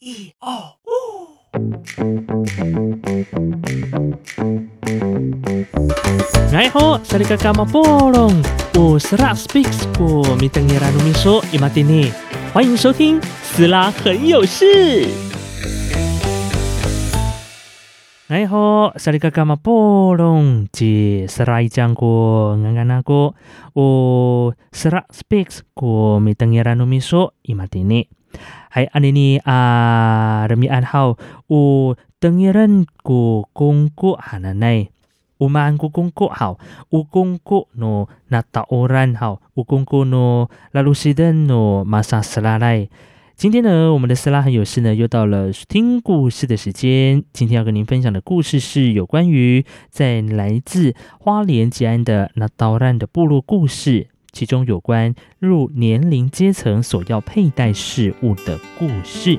哎吼，萨利嘎嘎马波隆，我是拉 speaks 过米登耶拉努米说伊马蒂尼，欢迎收听斯拉很有事。哎吼，萨利嘎嘎马波隆，即斯拉伊讲过安安那过，我斯拉 speaks 过米登耶拉努米说伊马蒂尼。Hai anini remian hau u tengiran ku kungku hananai. Umaan ku kungku hau. U kungku no nataoran hau. U kungku no lalusiden no masa selalai. 今天呢，我们的斯拉很有事呢，又到了听故事的时间。今天要跟您分享的故事是有关于在来自花莲吉安的那道兰的部落故事。其中有关入年龄阶层所要佩戴饰物的故事。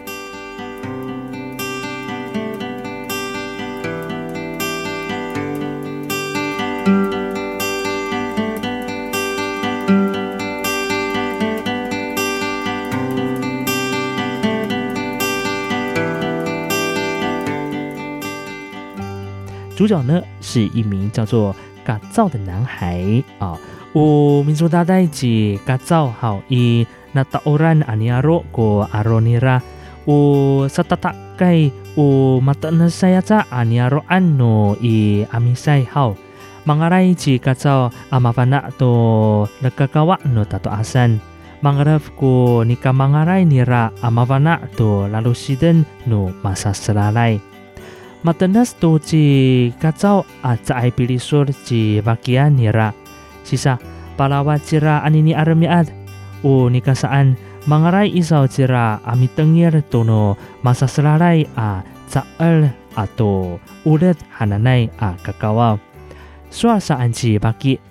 主角呢是一名叫做嘎造的男孩啊。有民族大代志嘎造好以那大欧然阿尼亚罗过阿罗尼拉有萨塔塔盖有马特纳塞亚扎阿尼亚罗安诺以阿米塞好mangarai ji嘎造阿马凡纳多勒嘎嘎瓦诺塔多阿山mangaraf ko nika mangarai nira阿马凡纳多拉鲁西登诺马萨斯拉莱Matenas to ji嘎造阿在爱比利说ji bagian nira Sisa palawat sira anini aramiad o nikasaan mangaray isaw sira ami tengir tono masa selalay a tsaal ato ulit hananay a kakawaw. Suar saan si baki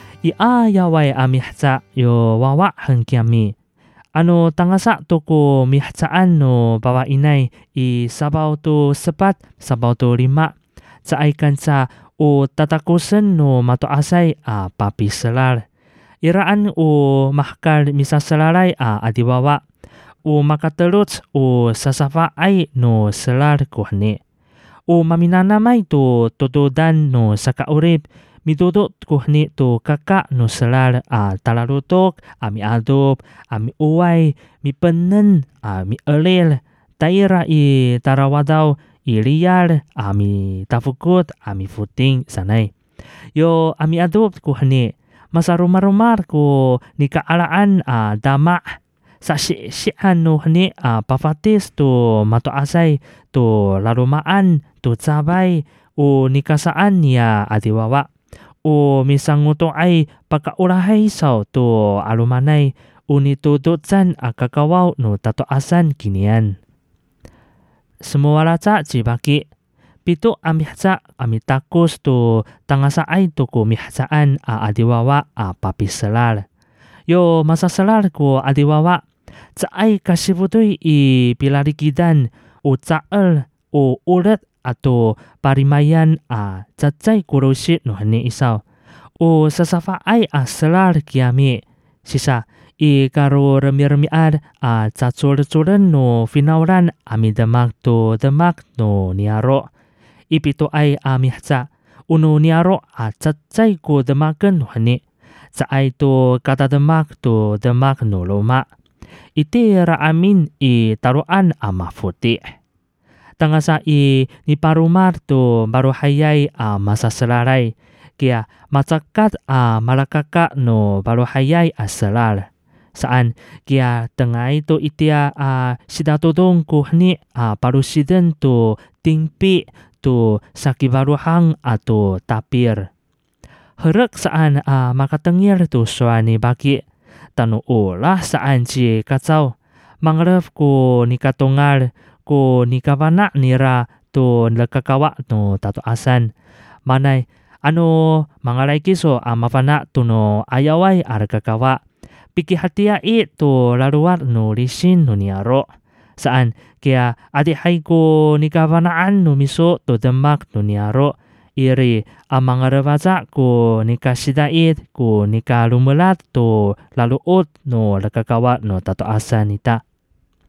iayaway ami hatsa yo wawa hangkiami. Ano tangasa to ko mihatsaan no bawa inay i sabaw to sepat sabaw to lima sa ay kansa o tatakusan no matoasay a papi selar. Iraan o mahkal misasalalay a adiwawa. O makatelot o sasafa ay no selar kuhani. O maminanamay to totodan no sakaurib. Midodot kuhni to kaka no selar a talalutok, ami adob, ami uway, mi penen, mi elil. Taira i tarawadaw. Iliyar, ami tafukut, ami futing sanay. Yo ami adob ko hani, masarumar-rumar ko ni kaalaan dama. Sa siyan no hani pafatis to matoasay to larumaan to sabay o nikasaan niya adiwawa. O misanguto ay pagkaurahay saw to alumanay o nitudotsan kakawaw no tatoasan kinian. Semua raca jibaki pito amihsa amitakus to tangasaay to ko mihsaan adiwawa papi selar. Yo masa selar ko adiwawa saay kasibutoy i pilarikidan o tsaal o ulat ato parimayan tsatsay kuroshi no hani isaw. O sasafa ay selar kiami sisa I karo remi-remiad tsatsol-tsolen no finauran ami demak to demak no niaro. Ipito ay ami hatsa uno niaro tsatsay ko demaken no hani. Saay to kata demak to demak no loma. Iti raamin I taruan mafuti. Tangasa I niparumar to baruhayay masaselaray. Kaya matsakat malakaka no baruhayay selar. Saan kaya tengay to itia sidatodong kuhni parusiden to tingpi to sakibaruhang ato tapir. Herek saan makatengir to suani baki. Tanu olah saan si kacau. Mangref ko nikatongal ko nikabana nira to lekakawa no tato asan. Manay ano mangalay kiso mafana to no ayaway arkakawa. Piki hatia to laruar no lisin no niaro. Saan kaya adihay ko nikabanaan no miso to demak no niaro. Iri amang revaza ko nikasidait ko nikalumulat to laluot no lakakawa no tatoasan nita.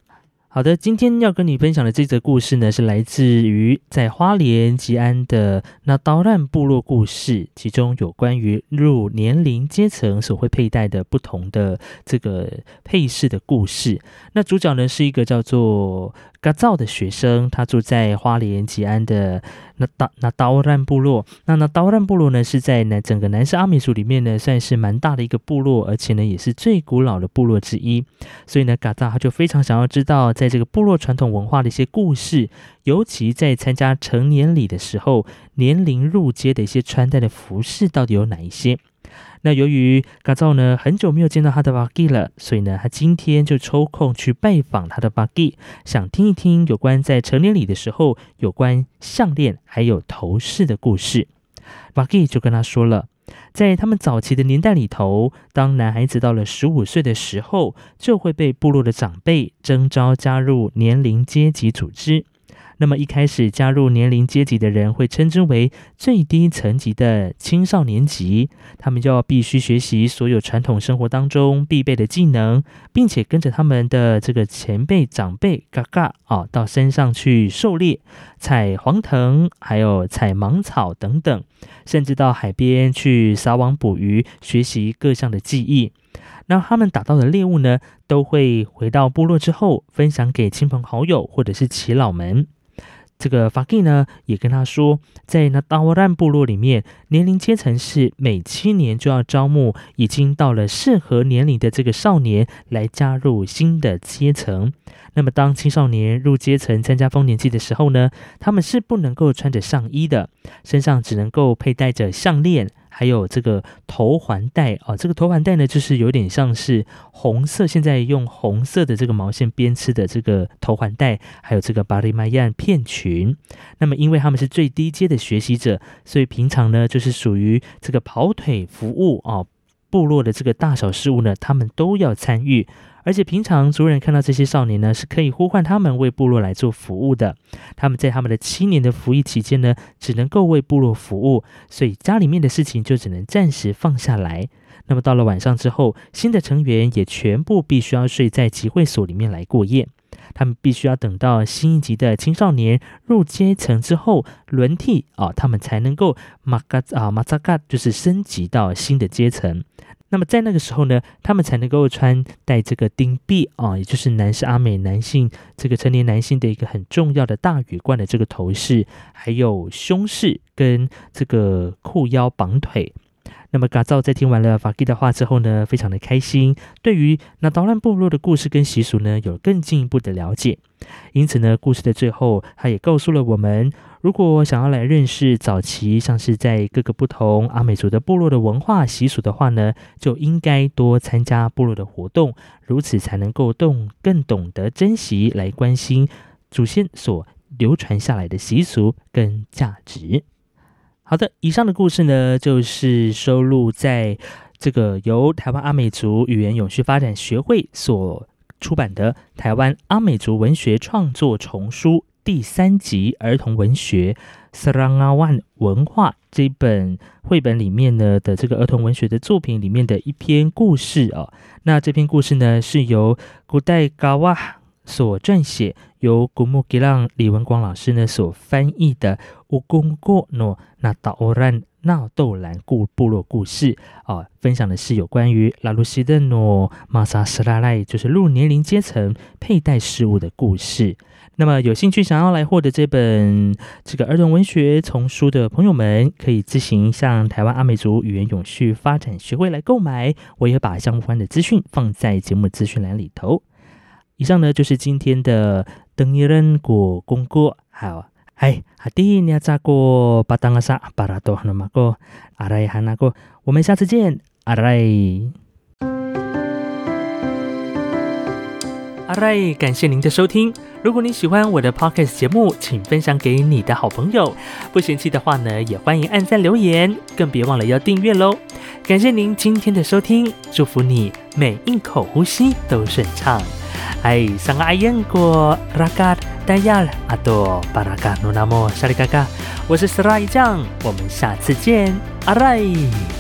好的，今天要跟你分享的这则故事呢，是来自于在花莲吉安的那刀兰部落故事，其中有关于入年龄阶层所会佩戴的不同的这个配饰的故事。那主角呢是一个叫做嘎造的学生，他住在花莲吉安的那刀兰部落。那刀兰部落呢是在整个南势阿美族里面呢算是蛮大的一个部落，而且呢也是最古老的部落之一。所以呢嘎造他就非常想要知道在这个部落传统文化的一些故事，尤其在参加成年礼的时候，年龄入阶的一些穿戴的服饰到底有哪一些。那由于嘎造呢很久没有见到他的巴基了，所以呢他今天就抽空去拜访他的巴基，想听一听有关在成年礼的时候有关项链还有头饰的故事。巴基就跟他说了，在他们早期的年代里头，当男孩子到了15岁的时候，就会被部落的长辈征召加入年龄阶级组织。那么一开始加入年龄阶级的人会称之为最低层级的青少年级，他们就要必须学习所有传统生活当中必备的技能，并且跟着他们的这个前辈长辈嘎嘎到山上去狩猎，采黄藤，还有采芒草等等，甚至到海边去撒网捕鱼，学习各项的技艺。那他们打到的猎物呢，都会回到部落之后分享给亲朋好友或者是耆老们。这个法基呢也跟他说，在那达沃兰部落里面，年龄阶层是每7年就要招募已经到了适合年龄的这个少年来加入新的阶层。那么当青少年入阶层参加丰年祭的时候呢，他们是不能够穿着上衣的，身上只能够佩戴着项链，还有这个头环带这个头环带呢，就是有点像是红色，现在用红色的这个毛线编织的这个头环带，还有这个巴里麦亚片裙。那么因为他们是最低阶的学习者，所以平常呢就是属于这个跑腿服务部落的这个大小事务呢，他们都要参与。而且平常族人看到这些少年呢，是可以呼唤他们为部落来做服务的。他们在他们的7年的服役期间呢，只能够为部落服务，所以家里面的事情就只能暂时放下来。那么到了晚上之后，新的成员也全部必须要睡在集会所里面来过夜。他们必须要等到新一级的青少年入阶层之后轮替他们才能够马扎嘎就是升级到新的阶层。那么在那个时候呢，他们才能够穿戴这个丁币也就是南势阿美男性这个成年男性的一个很重要的大羽冠的这个头饰，还有胸饰跟这个裤腰绑腿。那么嘎造在听完了法基的话之后呢，非常的开心，对于那刀兰部落的故事跟习俗呢，有更进一步的了解。因此呢，故事的最后，他也告诉了我们，如果想要来认识早期像是在各个不同阿美族的部落的文化习俗的话呢，就应该多参加部落的活动，如此才能够更懂得珍惜，来关心祖先所流传下来的习俗跟价值。好的，以上的故事呢，就是收录在这个由台湾阿美族语言永续发展学会所出版的《台湾阿美族文学创作丛书》第3集儿童文学 Serangawan 文化这本绘本里面呢的这个儿童文学的作品里面的一篇故事那这篇故事呢是由古代嘎哇所撰写，由古木吉浪李文光老师呢所翻译的乌公过诺那达欧兰纳豆兰部落故事分享的是有关于拉鲁西的诺马萨斯拉赖，就是入年龄阶层佩戴饰物的故事。那么有兴趣想要来获得这本这个儿童文学丛书的朋友们，可以自行向台湾阿美族语言永续发展学会来购买，我也把相关的资讯放在节目资讯栏里头。以上呢就是今天的登一人果公过，好，hati ni acaku patangasa parato hanamako arai hanako， 我们下次见，arai。Alright， 感谢您的收听。如果你喜欢我的 Podcast 节目，请分享给你的好朋友。不嫌弃的话呢，也欢迎按赞留言，更别忘了要订阅咯。感谢您今天的收听，祝福你每一口呼吸都顺畅。Sang ayang ko rakat dayal atau parakat nunamo syarikaka， 我是 Serai 酱，我们下次见，Alright。